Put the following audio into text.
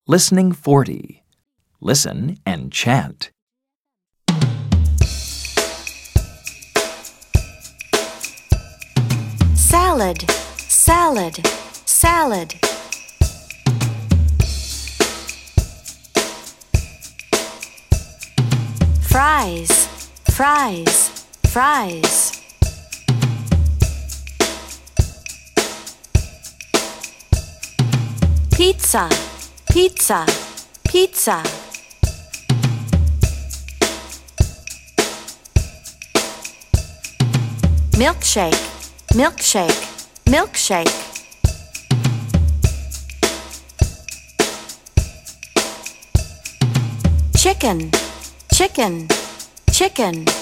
Listening 40. Listen and chant. Salad, salad, salad. Fries, fries, fries. Pizza, pizza, pizza. Milkshake, milkshake, milkshake. Chicken, chicken, chicken.